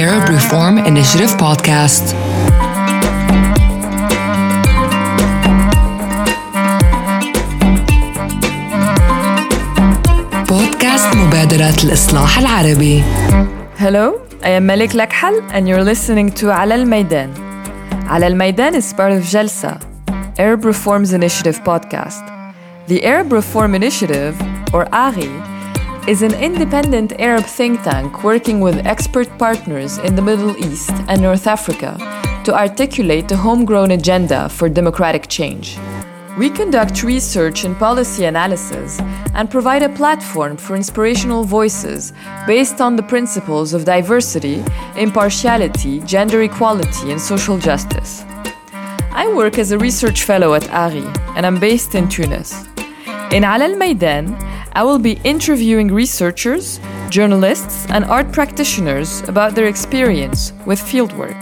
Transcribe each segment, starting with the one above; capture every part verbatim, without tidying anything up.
Arab Reform Initiative podcast. بودكاست مبادرة الإصلاح العربي. Hello, I am Malik Lakhal and you're listening to على الميدان. على الميدان is part of Jalsa, Arab Reforms Initiative podcast. The Arab Reform Initiative, or ARI, is an independent Arab think tank working with expert partners in the Middle East and North Africa to articulate a homegrown agenda for democratic change. We conduct research and policy analysis and provide a platform for inspirational voices based on the principles of diversity, impartiality, gender equality, and social justice. I work as a research fellow at ARI, and I'm based in Tunis. In Ala al-Maidan, I will be interviewing researchers, journalists, and art practitioners about their experience with fieldwork.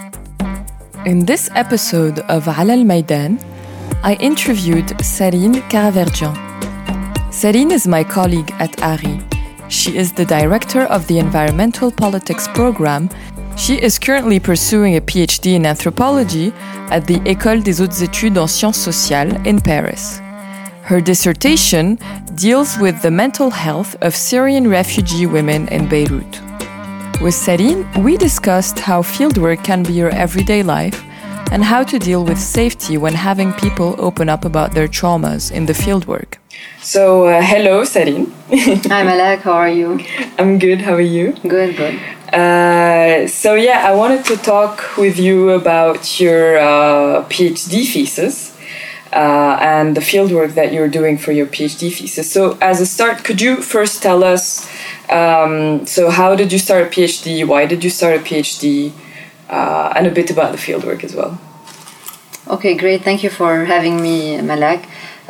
In this episode of Ala al-Maidan, I interviewed Sarine Karaverdian. Sarine is my colleague at ARI. She is the director of the Environmental Politics program. She is currently pursuing a PhD in anthropology at the École des Hautes Études en Sciences Sociales in Paris. Her dissertation deals with the mental health of Syrian refugee women in Beirut. With Sarine, we discussed how fieldwork can be your everyday life and how to deal with safety when having people open up about their traumas in the fieldwork. So, uh, hello, Sarine. Hi, Malak. How are you? I'm good. How are you? Good, good. Uh, so, yeah, I wanted to talk with you about your uh, PhD thesis. Uh, and the fieldwork that you're doing for your PhD thesis. So as a start, could you first tell us, um, so how did you start a PhD, why did you start a PhD, uh, and a bit about the fieldwork as well? Okay, great. Thank you for having me, Malak.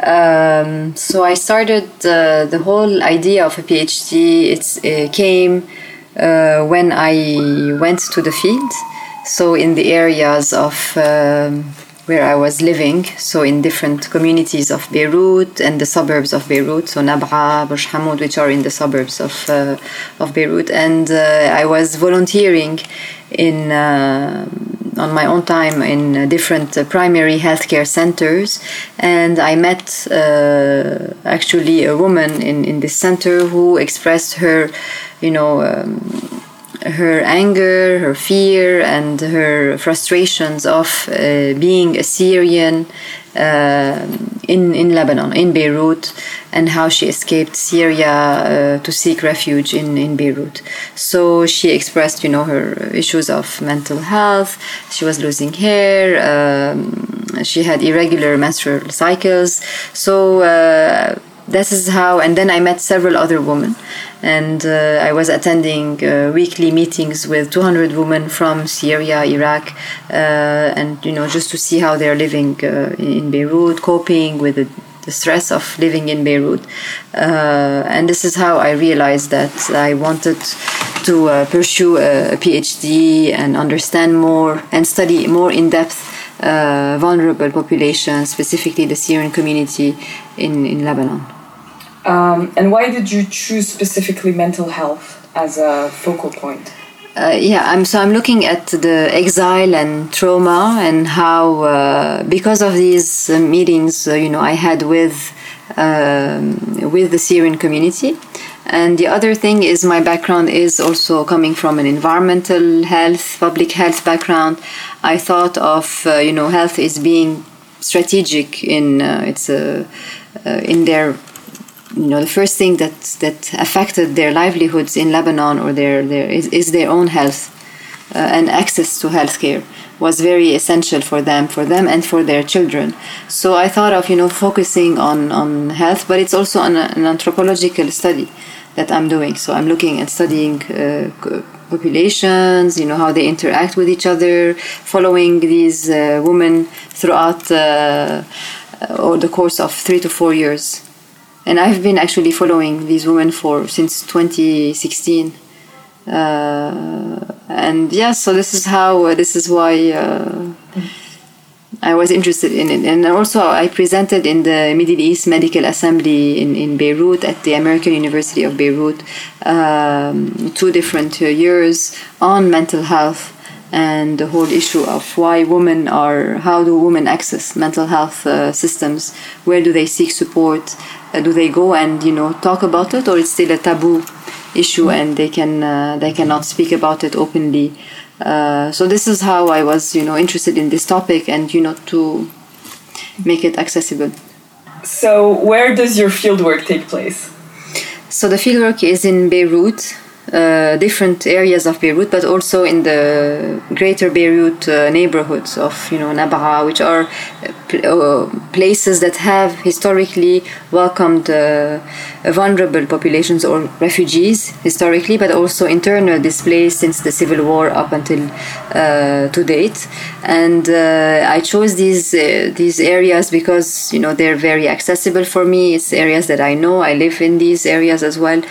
Um, so I started uh, the whole idea of a PhD, it's, it came uh, when I went to the field, so in the areas of um, where I was living, so in different communities of Beirut and the suburbs of Beirut, so Nab'a, Burj Hamoud, which are in the suburbs of uh, of Beirut, and uh, I was volunteering in uh, on my own time in different uh, primary healthcare centers, and I met uh, actually a woman in in this center who expressed her, you know. Um, her anger, her fear, and her frustrations of uh, being a Syrian uh, in, in Lebanon, in Beirut, and how she escaped Syria uh, to seek refuge in, in Beirut. So she expressed, you know, her issues of mental health. She was losing hair. Um, she had irregular menstrual cycles. So uh, this is how, and then I met several other women, and uh, I was attending uh, weekly meetings with two hundred women from Syria, Iraq, uh, and you know, just to see how they're living uh, in Beirut, coping with the, the stress of living in Beirut. Uh, and this is how I realized that I wanted to uh, pursue a, a PhD and understand more and study more in depth uh, vulnerable populations, specifically the Syrian community in, in Lebanon. Um, and why did you choose specifically mental health as a focal point? Uh, yeah, I'm so I'm looking at the exile and trauma and how uh, because of these uh, meetings, uh, you know, I had with um, with the Syrian community. And the other thing is my background is also coming from an environmental health, public health background. I thought of uh, you know, health is being strategic in uh, it's uh, uh, in their. You know, the first thing that that affected their livelihoods in Lebanon or their their is, is their own health, uh, and access to healthcare was very essential for them, for them and for their children. So I thought of, you know, focusing on on health, but it's also an, an anthropological study that I'm doing. So I'm looking at studying uh, populations, you know, how they interact with each other, following these uh, women throughout uh, or the course of three to four years. And I've been actually following these women for since twenty sixteen, uh, and yeah. So this is how. Uh, this is why uh, I was interested in it. And also I presented in the Middle East Medical Assembly in, in Beirut at the American University of Beirut, um, two different uh, years on mental health and the whole issue of why women are, how do women access mental health uh, systems, where do they seek support, uh, do they go and, you know, talk about it, or it's still a taboo issue and they can uh, they cannot speak about it openly. Uh, so this is how I was, you know, interested in this topic and, you know, to make it accessible. So where does your fieldwork take place? So the fieldwork is in Beirut, uh, different areas of Beirut, but also in the greater Beirut uh, neighborhoods of, you know, Nabaa, which are uh, places that have historically welcomed uh, vulnerable populations or refugees historically, but also internal displaced since the civil war up until uh, to date. And uh, I chose these uh, these areas because, you know, they're very accessible for me. It's areas that I know. I live in these areas as well,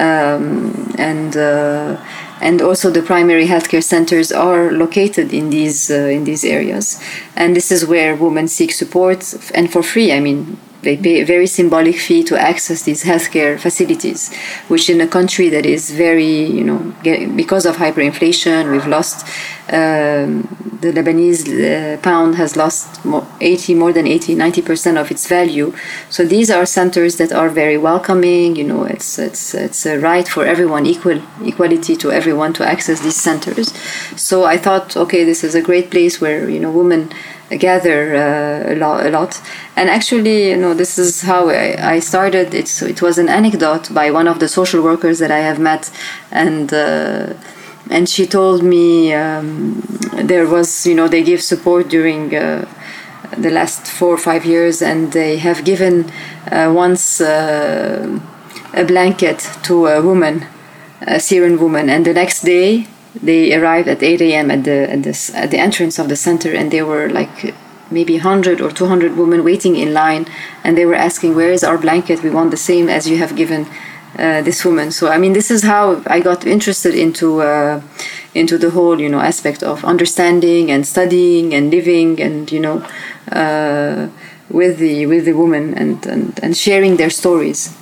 um, and uh, and also the primary healthcare centers are located in these uh, in these areas. And this is where women seek support, and for free. I mean, they pay a very symbolic fee to access these healthcare facilities, which in a country that is very, you know, get, because of hyperinflation, we've lost, um, the Lebanese uh, pound has lost more, eighty, more than eighty, ninety percent of its value. So these are centers that are very welcoming, you know, it's it's it's a right for everyone, equal equality to everyone to access these centers. So I thought, okay, this is a great place where, you know, women gather uh, a lot, a lot. And actually, you know, this is how I, I started. It's, it was an anecdote by one of the social workers that I have met, and uh, and she told me um, there was, you know, they give support during uh, the last four or five years, and they have given uh, once uh, a blanket to a woman, a Syrian woman, and the next day they arrived at eight a.m. at the at the at the entrance of the center, and there were like maybe one hundred or two hundred women waiting in line, and they were asking, "Where is our blanket? We want the same as you have given uh, this woman." So I mean, this is how I got interested into uh, into the whole, you know, aspect of understanding and studying and living, and, you know, uh, with the with the women and, and and sharing their stories.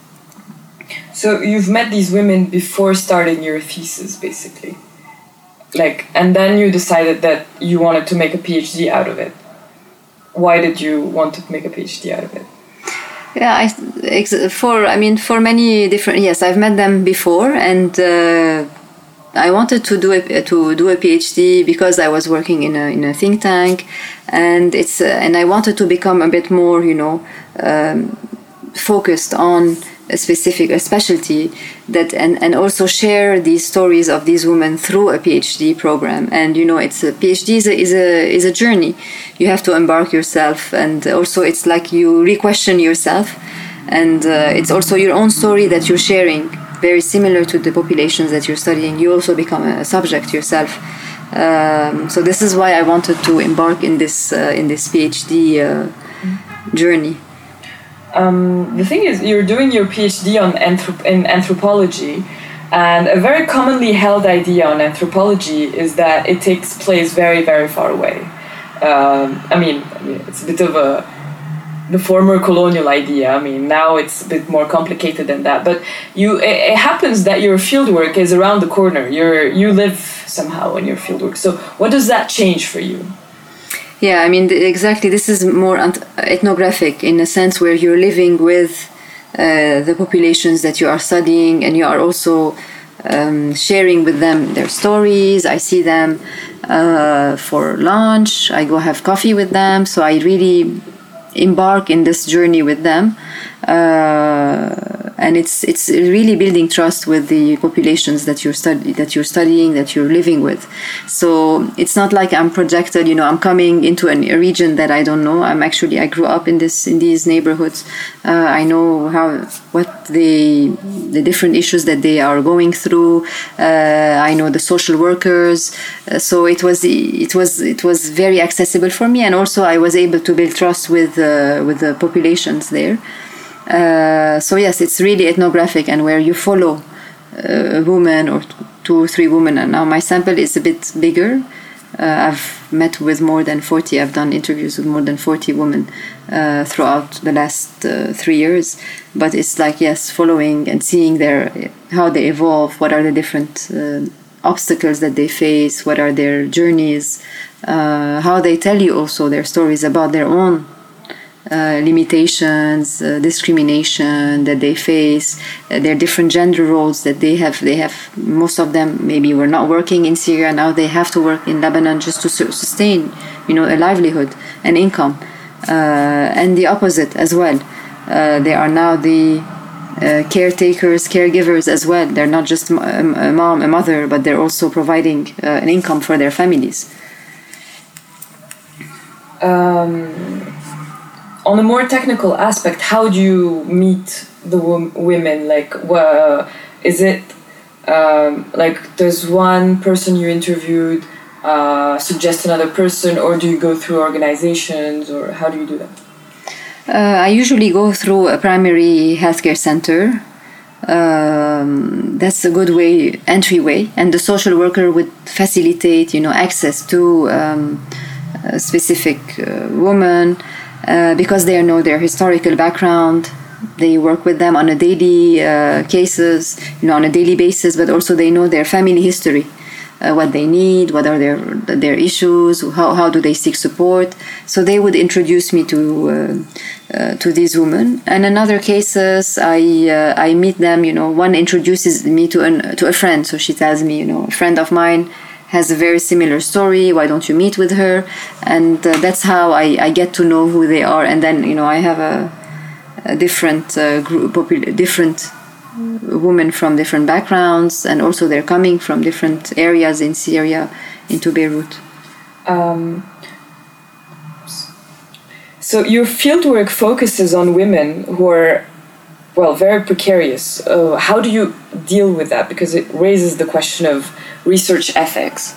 So you've met these women before starting your thesis, basically. Like, and then you decided that you wanted to make a PhD out of it. Why did you want to make a PhD out of it? Yeah, I, for I mean, for many different, yes, I've met them before, and uh, I wanted to do a to do a PhD because I was working in a in a think tank, and it's uh, and I wanted to become a bit more, you know, um, focused on a specific a specialty that and, and also share these stories of these women through a PhD program. And, you know, it's a PhD is a is a, is a journey. You have to embark yourself, and also it's like you re-question yourself, and uh, it's also your own story that you're sharing, very similar to the populations that you're studying. You also become a subject yourself. Um, so this is why I wanted to embark in this uh, in this PhD uh, journey. Um, the thing is, you're doing your PhD on anthrop- in anthropology, and a very commonly held idea on anthropology is that it takes place very, very far away. Um, I mean, I mean, it's a bit of a the former colonial idea. I mean, now it's a bit more complicated than that. But you, it, it happens that your fieldwork is around the corner. You're you live somehow in your fieldwork. So, what does that change for you? Yeah, I mean, exactly. This is more ethnographic in a sense where you're living with uh, the populations that you are studying, and you are also um, sharing with them their stories. I see them uh, for lunch. I go have coffee with them. So I really embark in this journey with them. Uh, and it's it's really building trust with the populations that you're study that you're studying, that you're living with. So it's not like I'm projected, you know, I'm coming into an, a region that I don't know. I'm actually I grew up in this in these neighborhoods. Uh, I know how what the the different issues that they are going through. Uh, I know the social workers. Uh, so it was it was it was very accessible for me, and also I was able to build trust with uh, with the populations there. Uh, so yes, it's really ethnographic, and where you follow uh, a woman or two or three women. And now my sample is a bit bigger, Uh, I've met with more than forty. I've done interviews with more than forty women uh, throughout the last uh, three years. But it's like, yes, following and seeing their how they evolve. What are the different uh, obstacles that they face? What are their journeys? Uh, how they tell you also their stories about their own Uh, limitations, uh, discrimination that they face, uh, their different gender roles that they have. They have most of them maybe were not working in Syria. Now they have to work in Lebanon just to su- sustain, you know, a livelihood and income. Uh, and the opposite as well. Uh, they are now the uh, caretakers, caregivers as well. They're not just a, a mom, a mother, but they're also providing uh, an income for their families. Um. On a more technical aspect, how do you meet the w- women? Like, uh, is it um, like does one person you interviewed uh, suggest another person, or do you go through organizations, or how do you do that? Uh, I usually go through a primary healthcare center. Um, that's a good way, entryway, and the social worker would facilitate, you know, access to um, a specific uh, woman. Uh, because they know their historical background, they work with them on a daily uh, cases, you know, on a daily basis, but also they know their family history, uh, what they need, what are their their issues, how how do they seek support. So they would introduce me to uh, uh, to these women. And in other cases, I uh, I meet them. You know, one introduces me to an to a friend. So she tells me, you know, a friend of mine has a very similar story, why don't you meet with her? And uh, that's how I, I get to know who they are. And then, you know, I have a, a different uh, group, popul- different women from different backgrounds, and also they're coming from different areas in Syria into Beirut. Um, so your fieldwork focuses on women who are, well, very precarious. Uh, how do you deal with that? Because it raises the question of research ethics.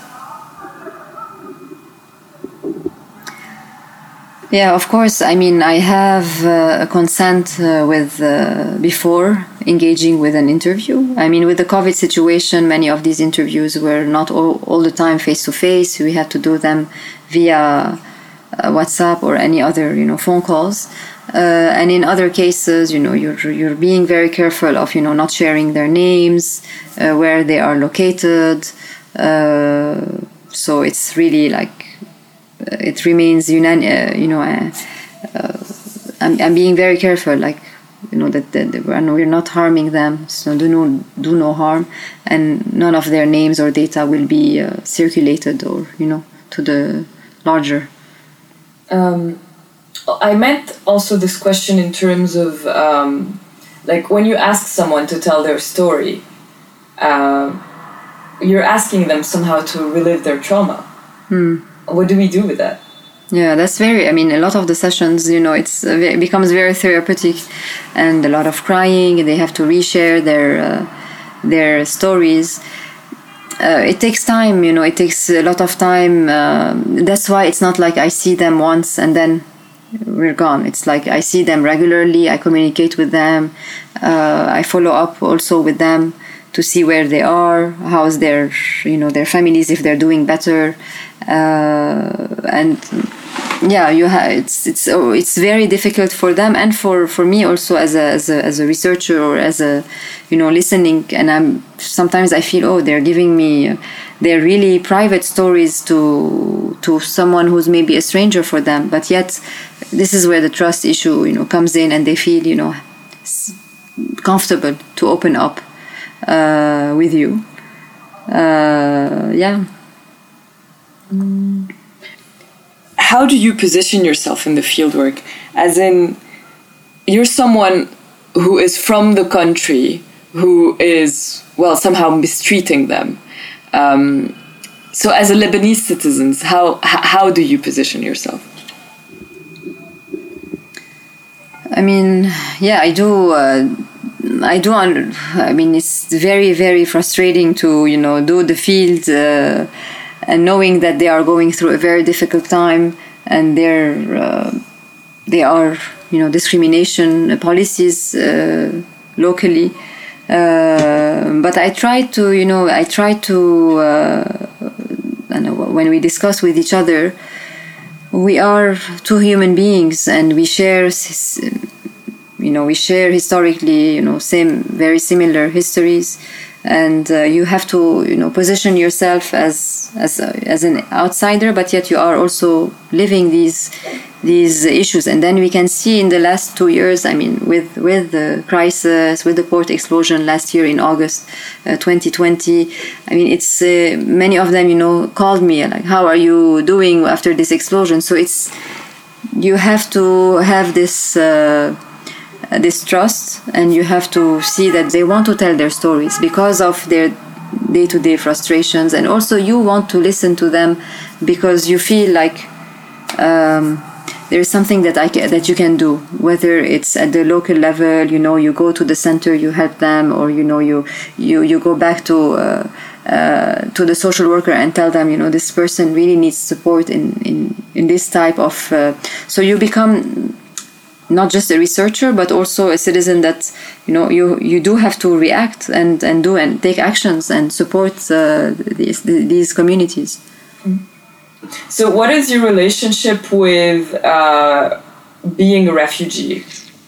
Yeah, of course. I mean, I have uh, a consent uh, with uh, before engaging with an interview. I mean, with the COVID situation, many of these interviews were not all, all the time face to face. We had to do them via uh, WhatsApp or any other, you know, phone calls. Uh, and in other cases, you know, you're you're being very careful of, you know, not sharing their names, uh, where they are located. Uh, so it's really like uh, it remains unan- uh, you know, uh, uh, I'm, I'm being very careful, like, you know, that, that we're not harming them, so do no do no harm, and none of their names or data will be uh, circulated or, you know, to the larger. Um, I meant also this question in terms of um, like when you ask someone to tell their story, uh, you're asking them somehow to relive their trauma. Hmm. What do we do with that? Yeah, that's very, I mean, a lot of the sessions, you know, it's uh, it becomes very therapeutic, and a lot of crying, and they have to reshare their uh, their stories. Uh, it takes time, you know, it takes a lot of time. Uh, that's why it's not like I see them once and then we're gone. It's like I see them regularly, I communicate with them, uh, I follow up also with them to see where they are, how's their, you know, their families, if they're doing better. Uh, and yeah, you have it's it's oh, it's very difficult for them and for, for me also as a, as a as a researcher or as a, you know, listening. And I'm sometimes I feel, oh, they're giving me their really private stories to to someone who's maybe a stranger for them, but yet this is where the trust issue, you know, comes in, and they feel, you know, comfortable to open up uh, with you. Uh, yeah. Mm. How do you position yourself in the fieldwork? As in, you're someone who is from the country, who is, well, somehow mistreating them. Um, so as a Lebanese citizen, how how do you position yourself? I mean, yeah, I do. Uh, I do. Un- I mean, it's very, very frustrating to, you know, do the field uh, and knowing that they are going through a very difficult time, and they're uh, they are, you know, discrimination policies uh, locally. Uh, but I try to, you know, I try to. Uh, I don't know when we discuss with each other, we are two human beings, and we share, you know, we share historically, you know, same, very similar histories, and uh, you have to, you know, position yourself as as as an outsider, but yet you are also living these these issues. And then we can see in the last two years, I mean, with with the crisis, with the port explosion last year in August uh, twenty twenty, I mean, it's uh, many of them, you know, called me like, how are you doing after this explosion? So it's, you have to have this uh, this trust, and you have to see that they want to tell their stories because of their day-to-day frustrations, and also you want to listen to them because you feel like um, there is something that I can, that you can do, whether it's at the local level, you know, you go to the center, you help them, or you know, you you you go back to uh, uh, to the social worker and tell them, you know, this person really needs support in in in this type of. Uh, so you become not just a researcher, but also a citizen that, you know, you, you do have to react and, and do and take actions and support uh, these, these communities. So what is your relationship with uh, being a refugee?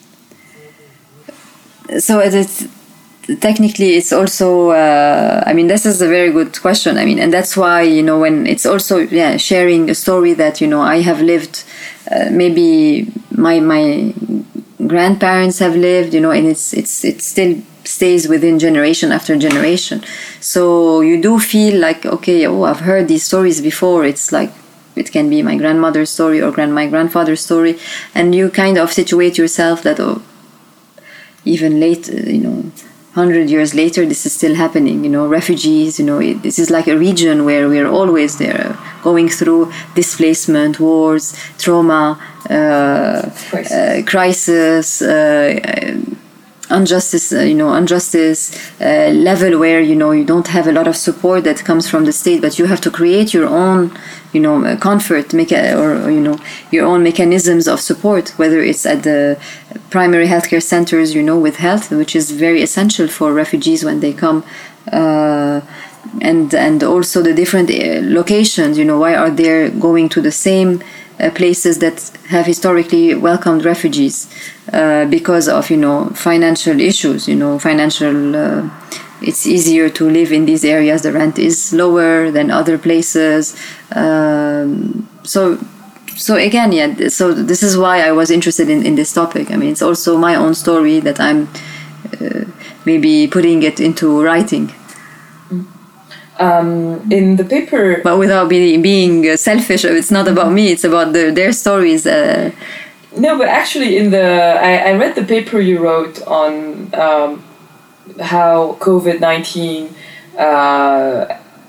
So it's, technically it's also, uh, I mean, this is a very good question. I mean, and that's why, you know, when it's also, yeah, sharing a story that, you know, I have lived, uh, maybe my my grandparents have lived, you know, and it's it's it still stays within generation after generation. So you do feel like, okay, oh, I've heard these stories before. It's like, it can be my grandmother's story or grand my grandfather's story, and you kind of situate yourself that, oh, even late, you know, hundred years later, this is still happening. You know, refugees. You know, it, this is like a region where we are always there, going through displacement, wars, trauma, uh, crisis, uh, crisis uh, injustice. Uh, you know, injustice uh, level where, you know, you don't have a lot of support that comes from the state, but you have to create your own, you know, comfort, make a, or, or you know, your own mechanisms of support, whether it's at the primary healthcare centers, you know, with health, which is very essential for refugees when they come, uh, and and also the different locations, you know, why are they going to the same uh, places that have historically welcomed refugees, uh, because of, you know, financial issues, you know, financial. Uh, It's easier to live in these areas. The rent is lower than other places. Um, so, so again, yeah. So this is why I was interested in, in this topic. I mean, it's also my own story that I'm uh, maybe putting it into writing. Um, in the paper, but without be, being selfish, it's not about me. It's about the, their stories. Uh, no, but actually, in the I, I read the paper you wrote on. Um, how COVID nineteen uh,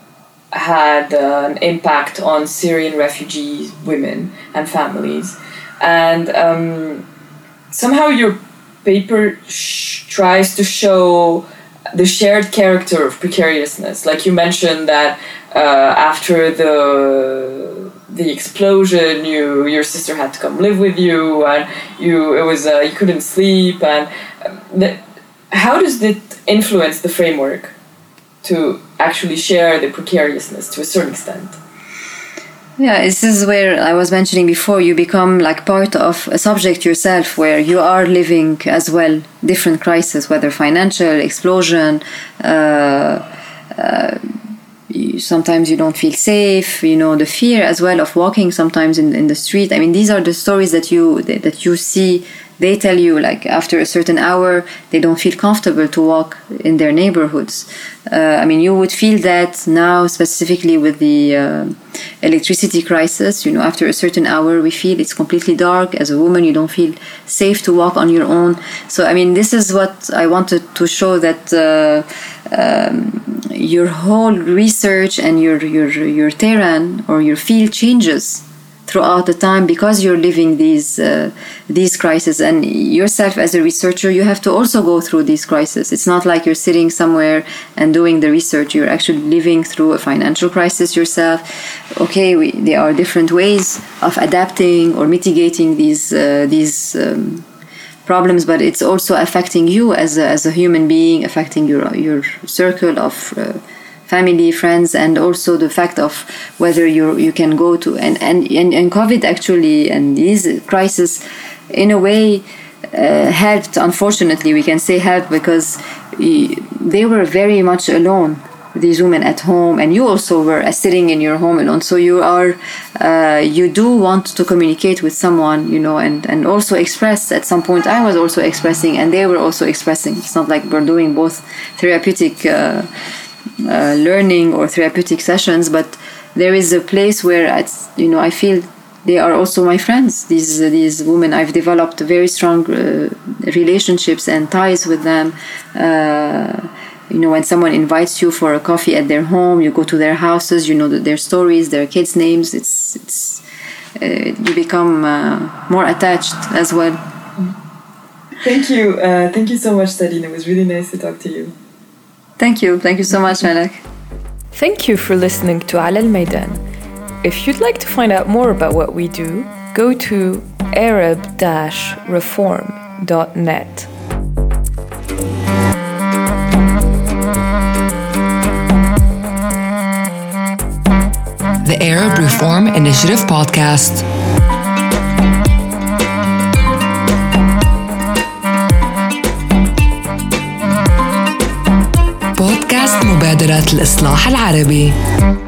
had uh, an impact on Syrian refugees, women and families. And um, somehow your paper sh- tries to show the shared character of precariousness. Like you mentioned that uh, after the the explosion, you your sister had to come live with you, and you it was uh, you couldn't sleep. And the, how does it influence the framework to actually share the precariousness to a certain extent? Yeah, this is where I was mentioning before, you become like part of a subject yourself, where you are living as well different crises, whether financial, explosion, uh, uh, you, sometimes you don't feel safe, you know, the fear as well of walking sometimes in, in the street. I mean, these are the stories that you that you see. They tell you, like, after a certain hour, they don't feel comfortable to walk in their neighborhoods. Uh, I mean, you would feel that now, specifically with the uh, electricity crisis, you know, after a certain hour, we feel it's completely dark. As a woman, you don't feel safe to walk on your own. So, I mean, this is what I wanted to show, that uh, um, your whole research and your, your, your terrain or your field changes throughout the time, because you're living these uh, these crises, and yourself as a researcher, you have to also go through these crises. It's not like you're sitting somewhere and doing the research. You're actually living through a financial crisis yourself. Okay, we, there are different ways of adapting or mitigating these uh, these um, problems, but it's also affecting you as a, as a human being, affecting your your circle of uh, family, friends, and also the fact of whether you you can go to and and and, and COVID actually and these crises in a way uh, helped. Unfortunately, we can say helped because they were very much alone, these women at home, and you also were uh, sitting in your home alone. So you are uh, you do want to communicate with someone, you know, and and also express. At some point I was also expressing and they were also expressing. It's not like we're doing both therapeutic uh, uh, learning or therapeutic sessions, but there is a place where it's, you know, I feel they are also my friends. These uh, these women, I've developed very strong uh, relationships and ties with them. Uh, You know, when someone invites you for a coffee at their home, you go to their houses, you know their stories, their kids' names. It's it's uh, you become uh, more attached as well. Thank you, uh, thank you so much, Celine. It was really nice to talk to you. Thank you, thank you so much, Malak. Thank you for listening to Ala Al-Maidan. If you'd like to find out more about what we do, go to arab dash reform dot net. The Arab Reform Initiative Podcast. بودكاست مبادرة الإصلاح العربي.